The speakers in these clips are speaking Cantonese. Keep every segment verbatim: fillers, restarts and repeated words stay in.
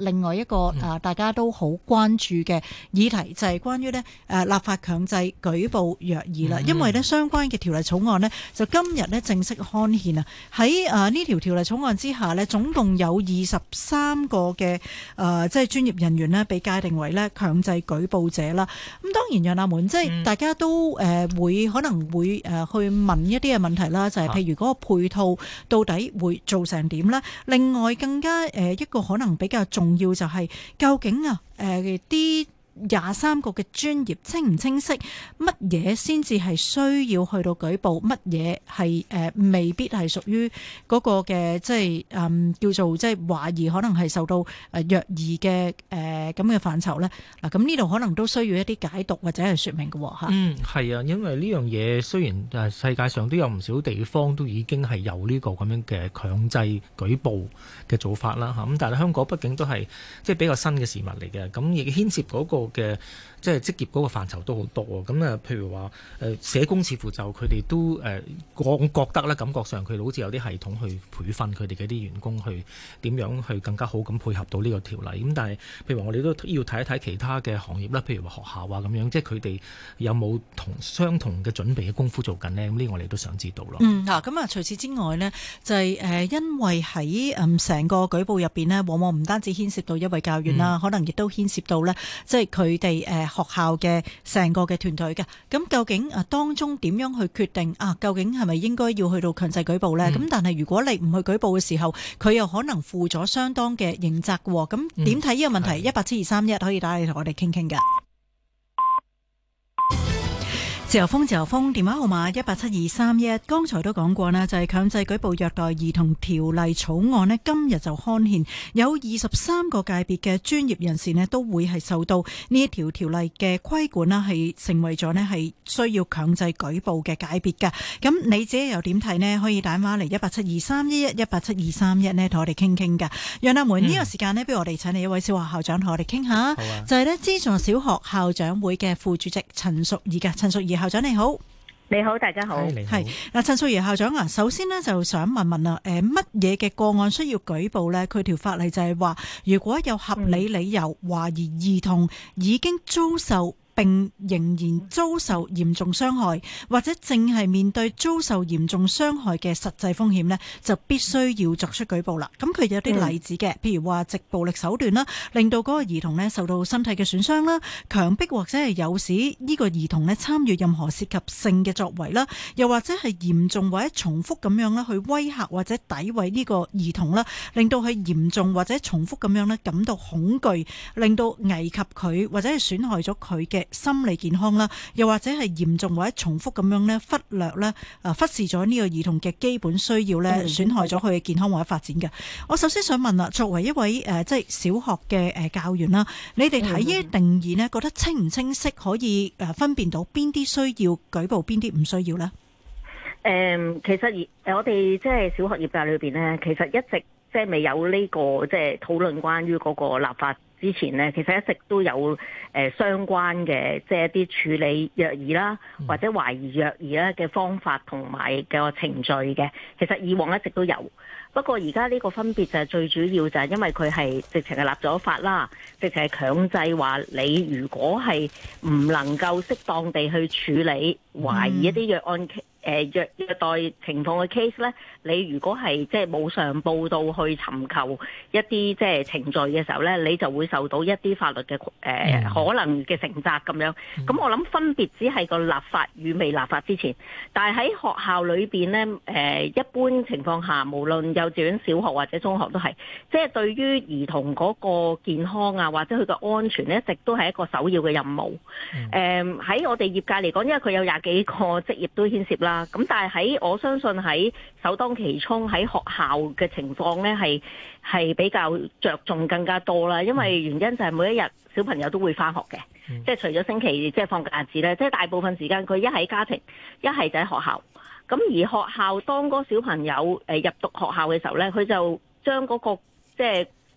另外一個誒、呃、大家都好關注嘅議題就係關於呢誒立法強制舉報虐兒啦，因為呢相關嘅條例草案呢，就今日呢正式刊憲啊。喺誒呢條條例草案之下呢，總共有二十三個嘅誒、呃、即係專業人員呢被界定為呢強制舉報者啦。咁當然楊立門即係大家都誒、呃、會可能會誒去問一啲嘅問題啦，就係、是、譬如嗰個配套到底會做成點呢？另外更加誒一個可能比較重要就係究竟啊誒啲廿三個嘅專業清唔清晰乜嘢先至係需要去到舉報，乜嘢係誒未必係屬於嗰個嘅即係誒叫做即係懷疑可能係受到誒虐兒嘅誒咁嘅範疇咧。嗱，咁呢度可能都需要一啲解讀或者係說明嘅吓。 嗯，係啊，因為呢樣嘢雖然誒世界上都有唔少地方都已經係有呢個咁樣嘅強制舉報嘅做法啦吓，咁但係香港畢竟都係即係比較新嘅事物嚟嘅，咁亦牽涉嗰個嘅即係職業嗰個範疇都好多啊！咁啊，譬如話誒社工似乎就佢哋都誒我覺得咧，感覺上佢哋好似有啲系統去培訓佢哋嘅啲員工去點樣去更加好咁配合到呢個條例。咁但係譬如話我哋都要睇一睇其他嘅行業啦，譬如話學校啊咁樣，即係佢哋有冇同相同嘅準備嘅功夫做緊呢？咁呢個我哋都想知道咯。 嗯，嗱，咁啊，除此之外呢，就係、是、誒，因為喺誒成個舉報入邊呢，往往唔單止牽涉到一位教員啦、嗯，可能亦都牽涉到呢，即係佢哋誒學校嘅成個嘅團隊嘅。咁究竟啊當中點樣去決定啊？究竟係咪應該要去到強制舉報呢？咁、嗯、但係如果你唔去舉報嘅時候，佢又可能負咗相當嘅刑責嘅。咁點睇呢個問題？一八七二三一可以打嚟同我哋傾傾㗎。自由風，自由風，電話號碼一八七二三一。剛才都講過啦，就係、是、強制舉報虐待兒童條例草案呢，今日就刊憲，有二十三個界別嘅專業人士呢都會係受到呢一條條例嘅規管啦，係成為咗呢係需要強制舉報嘅界別㗎。咁你自己又點睇呢？可以打電話嚟一八七二三一一一八七二三一呢，同我哋傾傾㗎。楊立門，呢、嗯、個時間呢，不如我哋請嚟一位小學校長同我哋傾下，啊、就係、是、呢資助小學校長會嘅副主席陳淑儀㗎。陳淑儀校長你好。 你好，大家好。 係嗱，陳淑儀校長啊，首先呢，就想問問啊，誒乜嘢嘅個案需要舉報呢？佢條法例就係話，如果有合理理由懷疑兒童已經遭受並仍然遭受嚴重傷害，或者正係面對遭受嚴重傷害嘅實際風險呢，就必須要作出舉報啦。咁佢有啲例子嘅，譬如話藉暴力手段啦，令到嗰個兒童呢受到身體嘅損傷啦，強迫或者係誘使呢個兒童呢參與任何涉及性嘅作為啦，又或者係嚴重或者重複咁樣啦去威嚇或者詆毀呢個兒童啦，令到佢嚴重或者重複咁樣呢感到恐懼，令到危及佢或者係損害咗佢嘅心理健康啦，又或者係嚴重或者重複咁樣咧忽略咧，誒忽視咗呢個兒童嘅基本需要咧，損害咗佢嘅健康或者發展嘅。我首先想問啦，作為一位誒即係小學嘅誒教員啦，你哋睇呢啲定義咧，覺得清唔清晰，可以誒分辨到邊啲需要舉報，邊啲唔需要咧？ 誒，其實而我哋即係小學業界裏邊咧，其實一直即係未有呢個即係討論關於嗰個立法之前呢，其實一直都有誒相關嘅即係一啲處理虐兒啦，或者懷疑虐兒咧嘅方法同埋個程序嘅。其實以往一直都有，不過而家呢個分別就係最主要就係因為佢係直情係立咗法啦，直情係強制話你如果係唔能夠適當地去處理懷疑一啲虐案誒虐虐待情況嘅 case 咧，你如果係即係冇上報到去尋求一啲即係程序嘅時候咧，你就會受到一啲法律嘅誒、呃、可能嘅承責咁樣。咁我諗分別只係個立法與未立法之前，但係喺學校裏邊咧誒一般情況下，無論幼稚園、小學或者中學都係，即係對於兒童嗰個健康啊或者佢嘅安全咧，一直都係一個首要嘅任務。誒、嗯、喺、呃、我哋業界嚟講，因為佢有廿幾個職業都牽涉啦。咁但係喺我相信喺首當其衝喺學校嘅情況咧，係係比較着重更加多啦。因為原因就係每一日小朋友都會翻學嘅、嗯，即係除咗星期即係放假日子咧，即係大部分時間佢一喺家庭，一係就喺學校。咁而學校當嗰個小朋友誒入讀學校嘅時候咧，佢就將嗰個即係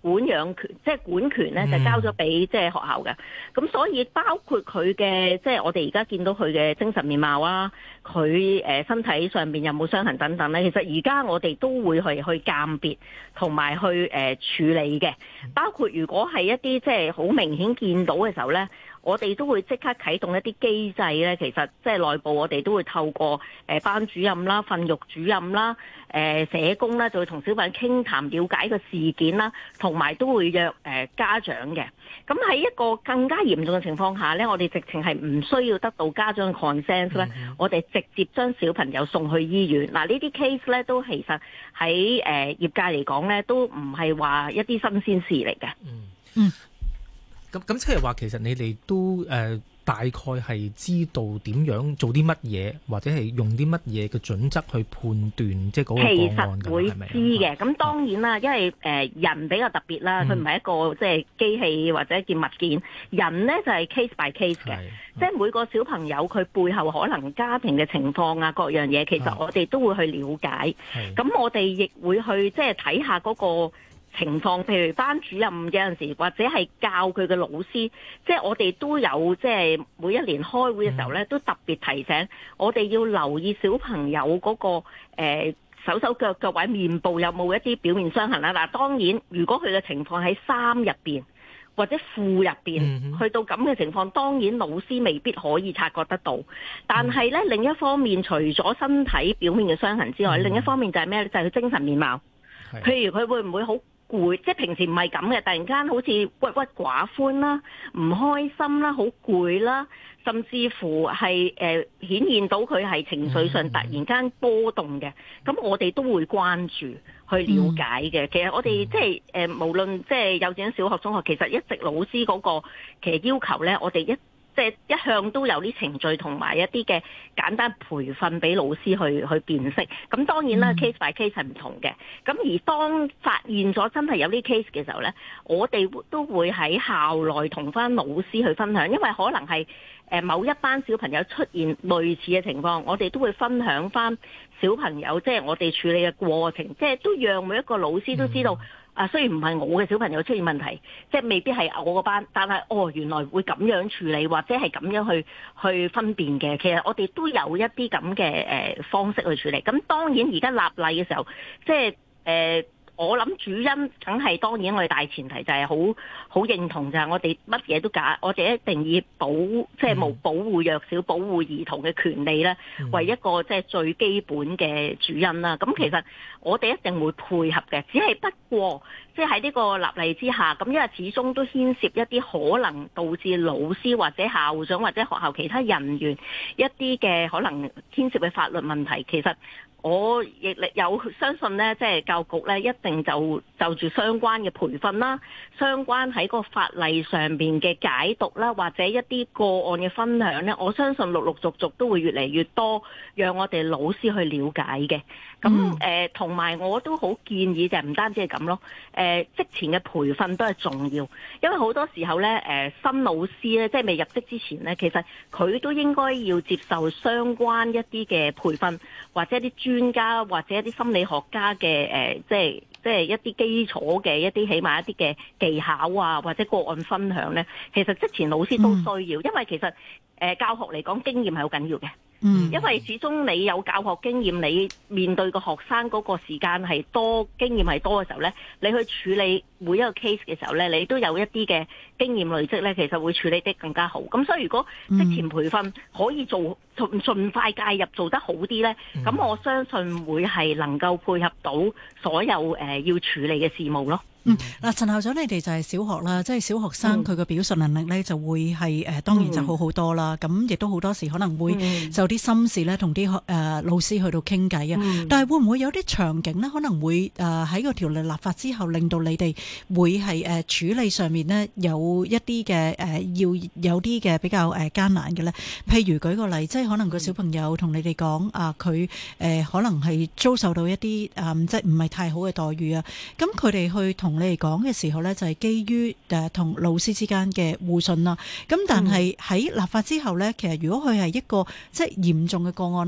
管養權，即係管權咧就交咗俾即係學校嘅。咁所以包括佢嘅即係我哋而家見到佢嘅精神面貌啊，佢誒身體上邊有冇傷痕等等咧，其實而家我哋都會去去鑑別同埋去誒處理嘅。包括如果係一啲即係好明顯見到嘅時候咧，我哋都會即刻啟動一啲機制咧，其實即係內部我哋都會透過誒班主任啦、訓育主任啦、誒社工啦，就會同小朋友傾談，了解個事件啦，同埋都會約誒家長嘅。咁喺一個更加嚴重嘅情況下咧，我哋直情係唔需要得到家長嘅 consent 咧，我哋直接將小朋友送去醫院。嗱，呢啲 case 咧都其實喺誒業界嚟講咧，都唔係話一啲新鮮事嚟嘅。 嗯嗯。咁咁即係話，其實你哋都誒、呃、大概係知道點樣做啲乜嘢，或者係用啲乜嘢嘅準則去判斷即係嗰個個案㗎？ 其實會知嘅。咁當然啦，因為誒、呃、人比較特別啦，佢唔係一個即係機器或者件物件。人咧就係、是、case by case 嘅，即係每個小朋友佢背後可能家庭嘅情況啊，各樣嘢，其實我哋都會去了解。咁我哋亦會去即係睇下嗰個情況，譬如班主任有陣時或者係教佢嘅老師，即係我哋都有即係每一年開會嘅時候咧，都特別提醒我哋要留意小朋友嗰個誒手手腳腳或者面部有冇一啲表面傷痕啦。嗱，當然如果佢嘅情況喺衫入邊或者褲入邊去到咁嘅情況，當然老師未必可以察覺得到。但係咧另一方面，除咗身體表面嘅傷痕之外，另一方面就係咩咧？就係佢精神面貌。譬如佢會唔會好攰，即係平時唔係咁嘅，突然間好似鬱鬱寡歡啦、唔開心啦、好攰啦，甚至乎係誒、呃、顯現到佢係情緒上突然間波動嘅，咁我哋都會關注去了解嘅。其實我哋即係誒無論即係幼稚園、小學、中學，其實一直老師嗰個其實要求咧，我哋一即係一向都有啲程序同埋一啲嘅簡單培訓俾老師去去辨識。咁當然啦、嗯、，case by case 係唔同嘅。咁而當發現咗真係有啲 case 嘅時候呢，我哋都會喺校內同翻老師去分享，因為可能係誒某一班小朋友出現類似嘅情況，我哋都會分享翻小朋友即係、就是、我哋處理嘅過程，即係都讓每一個老師都知道。嗯啊，雖然唔係我嘅小朋友出現問題，即係未必係我個班，但係哦，原來會咁樣處理，或者係咁樣去去分辨嘅。其實我哋都有一啲咁嘅誒方式去處理。咁當然而家立例嘅時候，即係誒。呃我諗主因梗係當然我哋大前提就係好好認同，就係我哋乜嘢都假，我哋一定以保即係冇保護弱小、保護兒童嘅權利咧，為一個即係最基本嘅主因啦。咁其實我哋一定會配合嘅，只係不過即係喺呢個立例之下，咁因為始終都牽涉一啲可能導致老師或者校長或者學校其他人員一啲嘅可能牽涉嘅法律問題，其實。我亦有相信咧，即係教育局咧，一定就就住相關嘅培訓啦，相關喺個法例上邊嘅解讀啦，或者一啲個案嘅分享咧，我相信陸陸續續都會越嚟越多，讓我哋老師去了解嘅。咁誒，同埋我都好建議就係唔單止係咁咯，誒職前嘅培訓都係重要，因為好多時候咧，誒新老師咧，即係未入職之前咧，其實佢都應該要接受相關一啲嘅培訓，或者一啲專家或者一啲心理學家嘅誒，即係即係一啲基礎嘅一啲起碼一啲嘅技巧啊，或者個案分享咧，其實職前老師都需要，因為其實誒教學嚟講經驗係好緊要嘅。嗯，因為始終你有教學經驗，你面對個學生嗰個時間係多，經驗係多嘅時候咧，你去處理每一個 case 嘅時候咧，你都有一啲嘅經驗累積咧，其實會處理得更加好。咁所以如果職前培訓可以做盡盡快介入做得好啲咧，咁、嗯、我相信會係能夠配合到所有誒、呃、要處理嘅事務咯。 嗯，嗱，陳校長，你哋就係小學啦，即係小學生佢嘅表述能力咧，就會係誒當然就好好多啦。咁亦都好多時可能會就啲心事咧，同啲誒老師去到傾偈啊。但係會唔會有啲場景咧，可能會誒喺個條例立法之後，令到你哋會係誒處理上面呢有一啲嘅誒要有啲嘅比較誒艱難嘅咧？譬如舉個例，即係可能個小朋友同你哋講啊，佢誒可能係遭受到一啲誒即係唔係太好嘅待遇啊。咁佢哋去同你哋講嘅時候呢，就係基於誒同老師之間嘅互信啦。咁但係喺立法之後呢，其實如果佢係一個即係嚴重嘅個案呢，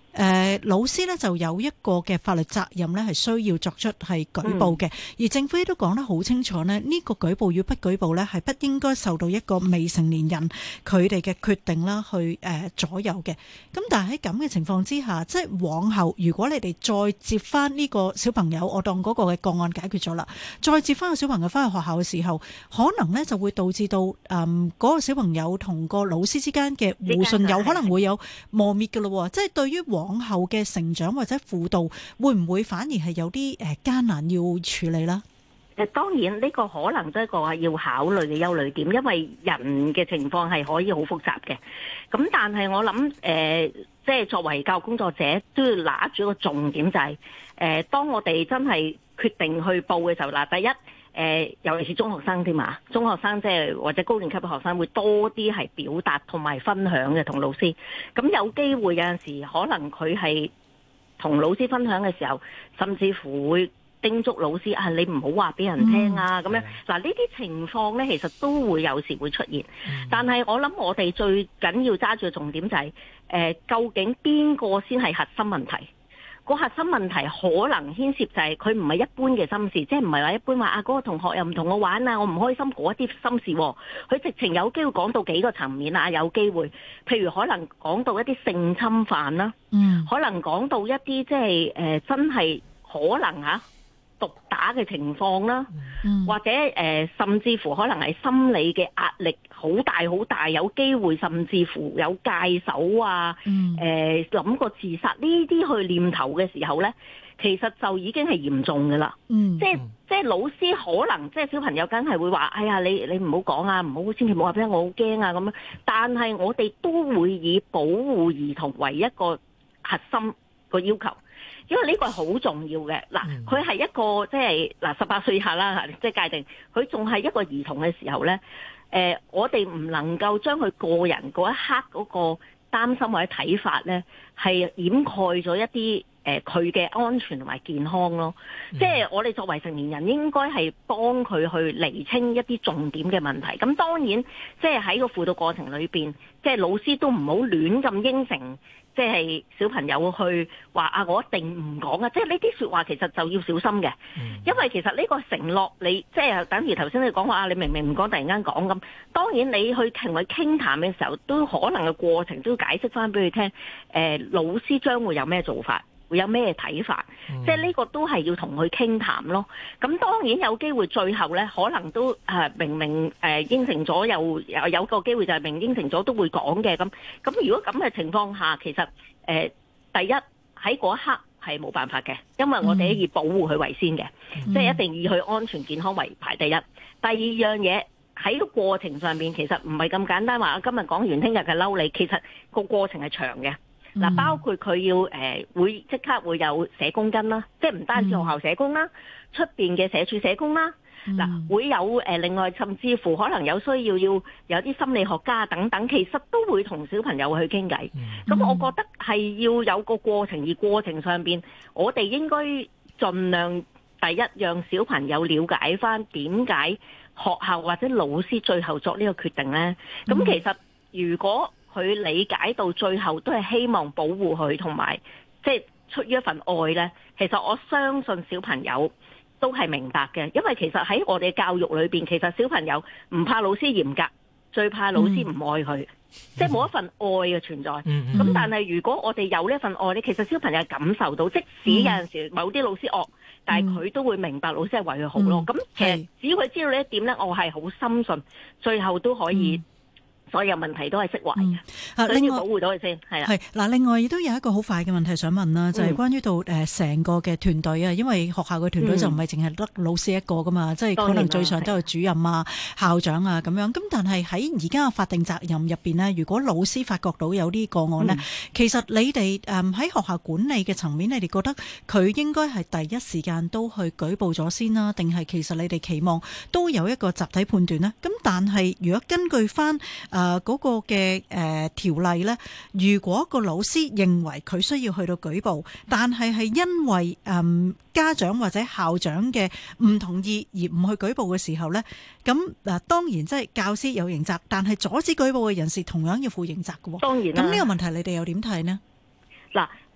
誒、呃、老師咧就有一個嘅法律責任咧，係需要作出係舉報嘅、嗯。而政府亦都講得好清楚呢，呢、這個舉報與不舉報咧，係不應該受到一個未成年人佢哋嘅決定啦，去誒、呃、左右嘅。咁但係喺咁嘅情況之下，即係往後如果你哋再接翻呢個小朋友，我當嗰個嘅個案解決咗啦，再接翻個小朋友翻去學校嘅時候，可能呢就會導致到誒嗰、嗯那個小朋友同個老師之間嘅互信有可能會有磨滅㗎咯。即係對於往後嘅成長或者輔導，會唔會反而係有啲誒艱難要處理啦？ 誒當然呢個可能都係一個要考慮嘅憂慮點，因為人嘅情況係可以好複雜嘅。咁但係我諗誒、呃，即係作為教育工作者都要拿住一個重點，就係、是、誒、呃，當我哋真係決定去報嘅時候，嗱，第一誒、呃，尤其是中學生添嘛，中學生即係或者高年級嘅學生會多啲係表達同埋分享嘅同老師。咁有機會有陣時可能佢係同老師分享嘅時候，甚至乎會叮囑老師啊，你唔好話俾人聽啊，咁、嗯、樣嗱，呢啲情況呢，其實都會有時會出現。嗯、但係我諗我哋最緊要揸住嘅重點就係、是呃，究竟邊個先係核心問題？個核心問題可能牽涉就係佢唔係一般嘅心事，即係唔係話一般話啊嗰、那個同學又唔同我玩啊，我唔開心嗰一啲心事、啊。佢直情有機會講到幾個層面啊，有機會，譬如可能講到一啲性侵犯啦、啊，嗯，可能講到一啲即係誒真係可能嚇、啊。毒打嘅情況啦，嗯、或者誒、呃，甚至乎可能係心理嘅壓力好大好大，有機會甚至乎有戒手啊，誒諗過自殺呢啲去念頭嘅時候呢，其實就已經係嚴重㗎啦、嗯。即係即係老師可能即係小朋友梗係會話，哎呀你你唔好講啊，唔好千祈唔好話俾我好驚啊咁樣。但係我哋都會以保護兒童為一個核心個要求。因為呢個係好重要嘅，嗱，佢係一個即係嗱十八歲以下啦，即係界定佢仲係一個兒童嘅時候呢，誒、呃，我哋唔能夠將佢個人嗰一刻嗰個擔心或者睇法呢，係掩蓋咗一啲誒佢嘅安全同埋健康咯。嗯、即係我哋作為成年人，應該係幫佢去釐清一啲重點嘅問題。咁當然，即係喺個輔導過程裏邊，即係老師都唔好亂咁應承。即係小朋友去話啊，我一定唔講啊！即係呢啲說話其實就要小心嘅，因為其實呢個承諾你即係等於頭先你講話啊，你明明唔講，突然間講咁。當然你去同佢傾談嘅時候，都可能嘅過程都要解釋翻俾佢聽。誒、呃，老師將會有咩做法？會有咩睇法？嗯、即係呢個都係要同佢傾談咯。咁當然有機會最後呢，可能都誒、呃、明明誒、呃、應承咗，又有有個機會就係明應承咗都會講嘅。咁咁如果咁嘅情況下，其實誒、呃、第一喺嗰一刻係冇辦法嘅，因為我哋以保護佢為先嘅，嗯、即係一定以佢安全健康為排第一。第二樣嘢喺個過程上面，其實唔係咁簡單話，今日講完聽日嘅嬲你，其實個過程係長嘅。嗱、嗯，包括佢要誒、呃、會即刻會有社工跟啦，即係唔單止學校社工啦，出邊嘅社署社工啦，嗱、嗯、會有誒、呃、另外甚至乎可能有需要要有啲心理學家等等，其實都會同小朋友去傾偈。咁、嗯、我覺得係要有個過程，而過程上邊我哋應該盡量第一讓小朋友了解翻點解學校或者老師最後作呢個決定呢。咁、嗯、其實如果佢理解到最後都係希望保護佢，同埋即係出於一份愛呢。其實我相信小朋友都係明白嘅，因為其實喺我哋教育裏邊，其實小朋友唔怕老師嚴格，最怕老師唔愛佢，嗯、即係冇一份愛嘅存在。咁、嗯、但係如果我哋有呢份愛呢，其實小朋友感受到，即使有陣時某啲老師惡，但係佢都會明白老師係為佢好咯。咁、嗯、其實只要佢知道呢一點呢，我係好深信，最後都可以、嗯。所有問題都係釋懷嘅，啊、嗯，所以要保護到佢先，係啦。係嗱，另外亦都有一個好快嘅問題想問啦，就係、是、關於到誒成個嘅團隊啊，因為學校嘅團隊就唔係淨係得老師一個噶嘛，即、嗯、係可能最上都有主任啊、校長啊咁樣。咁但係喺而家嘅法定責任入邊呢，如果老師發覺到有啲個案呢、嗯，其實你哋誒喺學校管理嘅層面，你哋覺得佢應該係第一時間都去舉報咗先啦，定係其實你哋期望都有一個集體判斷呢？咁但係如果根據翻誒嗰、呃那個嘅誒、呃、條例呢，如果個老師認為佢需要去到舉報，但係係因為誒、呃、家長或者校長嘅唔同意而唔去舉報嘅時候呢，咁嗱當然即係教師有刑責，但係阻止舉報嘅人士同樣要負刑責嘅喎。當然啦。咁呢個問題你哋又點睇呢？嗱，誒、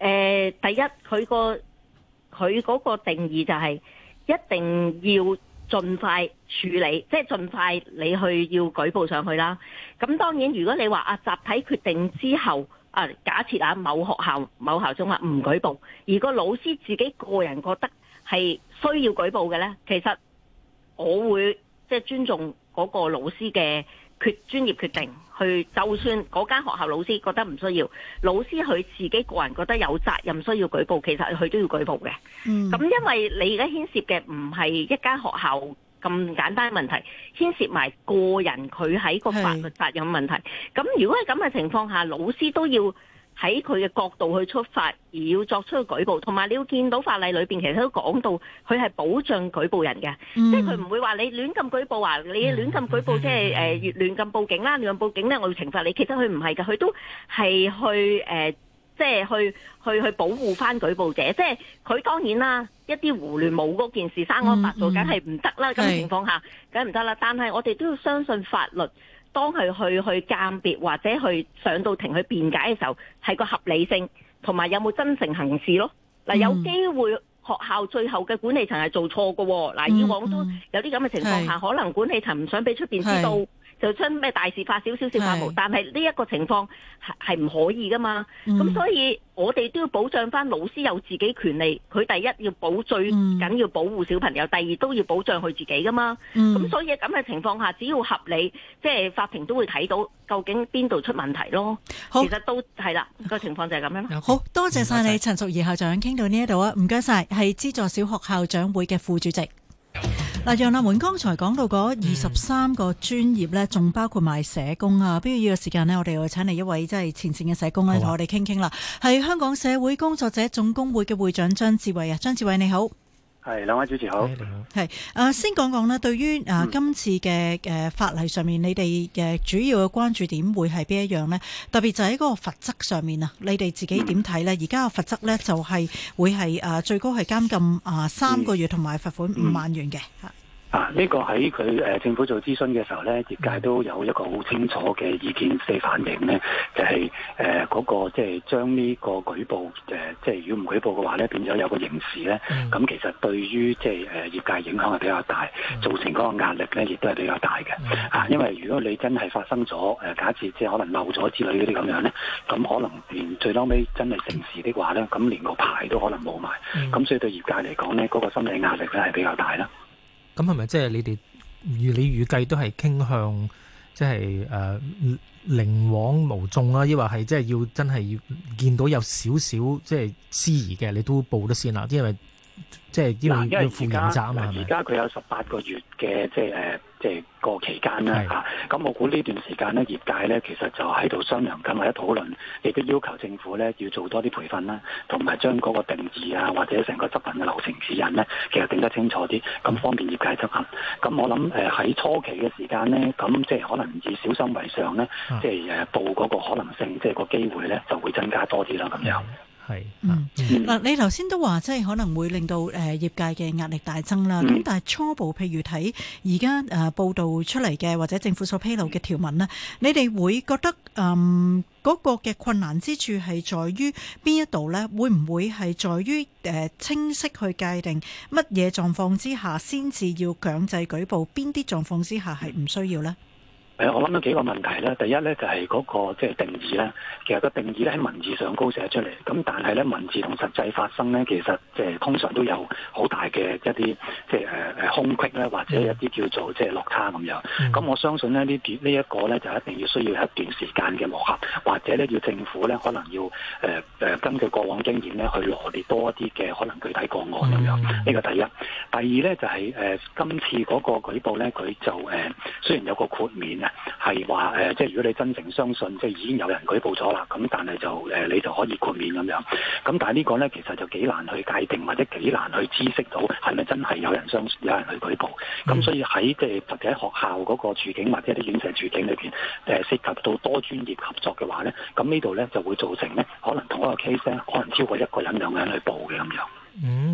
呃，第一佢個佢嗰個定義就係一定要盡快處理，即係盡快你去要舉報上去啦。咁當然，如果你話啊集體決定之後啊，假設啊某學校某校長話唔舉報，而個老師自己個人覺得係需要舉報嘅呢，其實我會即係尊重嗰個老師嘅決專業決定，去就算嗰間學校老師覺得唔需要，老師佢自己個人覺得有責任需要舉報，其實佢都要舉報嘅。咁、嗯、因為你而家牽涉嘅唔係一間學校咁簡單嘅問題，牽涉埋個人佢喺個法律責任問題。咁如果係咁嘅情況下，老師都要喺佢嘅角度去出發，而要作出舉報，同埋你要見到法例裏邊其實都講到，佢係保障舉報人嘅，嗯、即係佢唔會話你亂咁舉報啊，你亂咁舉報即係誒越亂咁報警啦，亂咁報警咧我要懲罰你。其實佢唔係㗎，佢都係去誒、呃，即係去去去保護翻舉報者。即係佢當然啦，一啲胡亂冇嗰件事生安白做，梗係唔得啦。咁嘅情況下，梗係唔得啦。但係我哋都要相信法律。當佢去去鑑別或者去上到庭去辯解嘅時候，係個合理性同埋有冇真誠行事咯。嗱、嗯，有機會學校最後嘅管理層係做錯嘅。嗱、嗯，以往都有啲咁嘅情況下，可能管理層唔想俾出邊知道，就將咩大事化小，小事化無。但係呢一個情況係係唔可以噶嘛。咁、嗯、所以我哋都要保障翻老師有自己權利。佢第一要保最緊要保護小朋友，第二都要保障佢自己噶嘛。咁、嗯、所以咁嘅情況下，只要合理，即係法庭都會睇到究竟邊度出問題咯。其實都係啦，個情況就係咁樣。 好多謝晒你，陳淑儀校長，傾到呢一度啊，唔該晒，係資助小學校長會嘅副主席。嗱，楊立門剛才講到嗰二十三個專業咧，仲包括埋社工啊。不如呢個時間呢，我哋又請嚟一位即係前線嘅社工咧，同我哋傾傾啦。係香港社會工作者總工會嘅會長張志偉啊，張志偉你好。 係，兩位主持好。 係，誒，先講講呢，對於誒今次嘅誒法例上面，你哋嘅主要嘅關注點會係邊一樣呢？特別就喺嗰個罰則上面啊，你哋自己點睇呢？而家個罰則呢，就係會係誒最高係監禁啊三個月同埋罰款五萬元嘅吓。 啊！呢、這個喺佢誒政府做諮詢嘅時候咧，業界都有一個好清楚嘅意見四反映咧，就係誒嗰個即係將呢個舉報誒，即係如果唔舉報嘅話咧，變咗有個刑事咧，咁、嗯、其實對於即係誒業界影響係比較大，造成嗰個壓力咧，亦都係比較大嘅。啊，因為如果你真係發生咗誒，假設即係可能漏咗之類嗰啲咁樣咧，咁可能連最嬲尾真係成事的話咧，咁連個牌都可能冇埋，咁、嗯、所以對業界嚟講咧，嗰、那個心理壓力咧係比較大啦。 咁係咪即係你哋預你預計都係傾向即係誒寧枉毋縱啦？抑或係即係要真係要見到有少少即係司儀嘅，你都報得先啦？因為即係因為要負刑責啊嘛。 而家佢有十八個月嘅即係誒即係個期間啦嚇。咁我估呢段時間咧，業界咧其實就喺度商量緊或者討論，亦都要求政府咧要做多啲培訓啦，同埋將嗰個定義啊或者成個執行嘅流程指引咧，其實定得清楚啲，咁方便業界執行。咁我諗誒喺初期嘅時間咧，咁即係可能以小心為上咧，即係誒報嗰個可能性，即係個機會咧就會增加多啲啦咁樣。 係， 嗯，嗱、嗯，你頭先都話即係可能會令到誒業界嘅壓力大增啦。咁、嗯、但係初步譬如睇而家誒報道出嚟嘅或者政府所披露嘅條文呢，你哋會覺得嗯嗰、那個嘅困難之處係在於邊一度呢？會唔會係在於誒清晰去界定乜嘢狀況之下先至要強制舉報，邊啲狀況之下係唔需要呢？ 誒，我諗到幾個問題咧。第一咧就係嗰個即係定義咧。其實個定義咧喺文字上高寫出嚟，咁但係咧文字同實際發生咧，其實即係通常都有好大嘅一啲即係誒誒空隙咧，或者一啲叫做即係落差咁樣。咁、嗯、我相信咧呢段呢一個咧就一定要需要一段時間嘅磨合，或者咧要政府咧可能要誒誒、呃、根據過往經驗咧去羅列多一啲嘅可能具體個案咁樣。呢、嗯、個第一。第二咧就係、是、誒、呃、今次嗰個舉報咧，佢就誒、呃、雖然有個豁免。係話誒，即係如果你真誠相信，即係已經有人舉報咗啦，咁但係就誒、呃，你就可以豁免咁樣。咁但係呢個咧，其實就幾難去界定，或者幾難去知悉到係咪真係有人相信，有人去舉報。咁、嗯、所以喺即係特別喺學校嗰個處境或者啲院舍處境裏邊，誒、呃、涉及到多專業合作嘅話咧，咁呢度咧就會造成咧，可能同一個 case 咧，可能超過一個人、兩個人去報嘅咁樣。 嗯。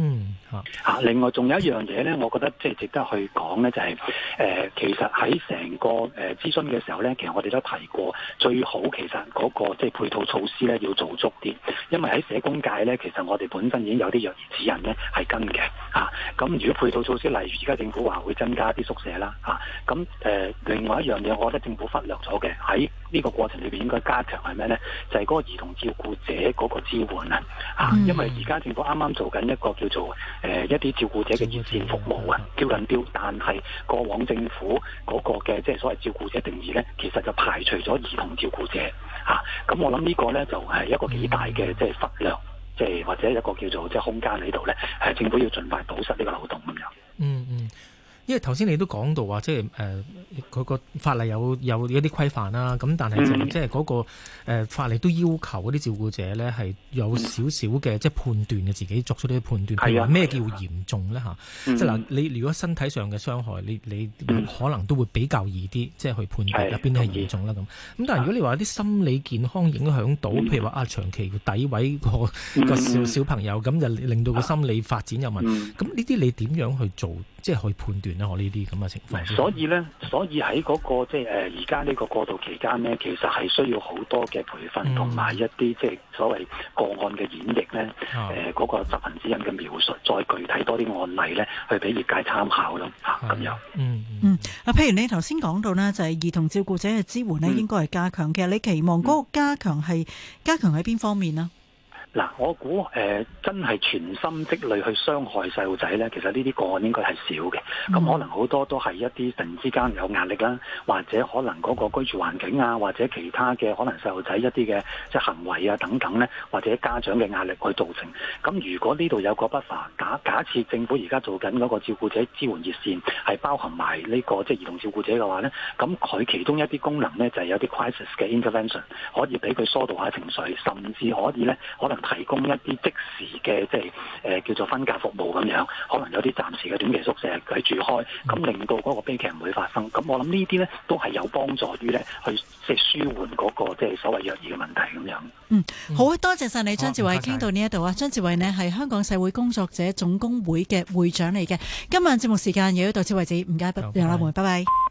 嚇。另外仲有一樣嘢咧，我覺得即係值得去講咧，就係、是、誒、呃、其實喺成個誒諮詢嘅時候咧，其實我哋都提過，最好其實嗰、那個即係配套措施咧要做足啲，因為喺社工界咧，其實我哋本身已經有啲虐兒指引咧係跟嘅嚇。咁、啊、如果配套措施，例如而家政府話會增加啲宿舍啦嚇，咁、啊、誒、呃、另外一樣嘢，我覺得政府忽略咗嘅喺呢個過程裏邊應該加強係咩咧？就係、是、嗰個兒童照顧者嗰個支援啊嚇，因為而家政府啱啱做緊一個叫做誒、呃、一啲照顧者嘅熱線服務啊，叫緊標，但係過往政府嗰個嘅即係所謂照顧者定義咧，其實就排除咗兒童照顧者嚇。咁、啊、我諗呢個咧就係、是、一個幾大嘅即係忽略，即、就、係、是、或者一個叫做即係空間喺度咧，係政府要盡快堵塞呢個漏洞咁樣。 嗯嗯。因為頭先你都講到話，即係誒嗰個法例有有一啲規範啦，咁但係就即係嗰個、呃、法例都要求嗰啲照顧者咧係有少少嘅即係判斷嘅，自己作出啲判斷，譬如話咩叫嚴重咧嚇？即係嗱，你如果身體上嘅傷害，你你可能都會比較易啲，即係去判斷入邊係嚴重啦咁。咁但係如果你話啲心理健康影響到，譬如話啊長期詆毀個個小小朋友，咁就令到個心理發展有問題，咁呢啲你點樣去做，即係去判斷？我呢啲咁嘅情況， 所以咧，所以喺嗰、那個即係誒而家呢個過渡期間咧，其實係需要好多嘅培訓同埋、嗯、一啲即係所謂個案嘅演繹咧，誒、嗯、嗰、呃那個執行指引嘅描述，再具體多啲案例咧，去俾業界參考咯嚇咁樣。嗯嗯，啊，譬如你頭先講到呢，就係兒童照顧者嘅支援咧，應該係加強。其實你期望嗰個加強係加強喺邊方面呢？ 嗱，我估誒、呃、真係全心積慮去傷害細路仔咧，其實呢啲個案應該係少嘅。咁、嗯、可能好多都係一啲突然之間有壓力啦，或者可能嗰個居住環境啊，或者其他嘅可能細路仔一啲嘅即係行為啊等等咧，或者家長嘅壓力去造成。咁如果呢度有個不法，假假設政府而家做緊嗰個照顧者支援熱線係包含埋呢、這個即係兒童照顧者嘅話咧，咁佢其中一啲功能咧就係、是、有啲 crisis 嘅 intervention， 可以俾佢疏導下情緒，甚至可以咧可能提供一啲即時嘅即係誒、呃、叫做分隔服務咁樣，可能有啲暫時嘅短期宿舍佢住開，咁令到嗰個悲劇唔會發生。咁我諗呢啲咧都係有幫助於咧去即係舒緩嗰、那個即係所謂虐兒嘅問題咁樣。 嗯，好多謝晒你張志偉，傾到呢一度啊。張志偉呢係香港社會工作者總工會嘅會長嚟嘅。今晚節目時間亦都到此為止，唔該，楊立梅，拜拜。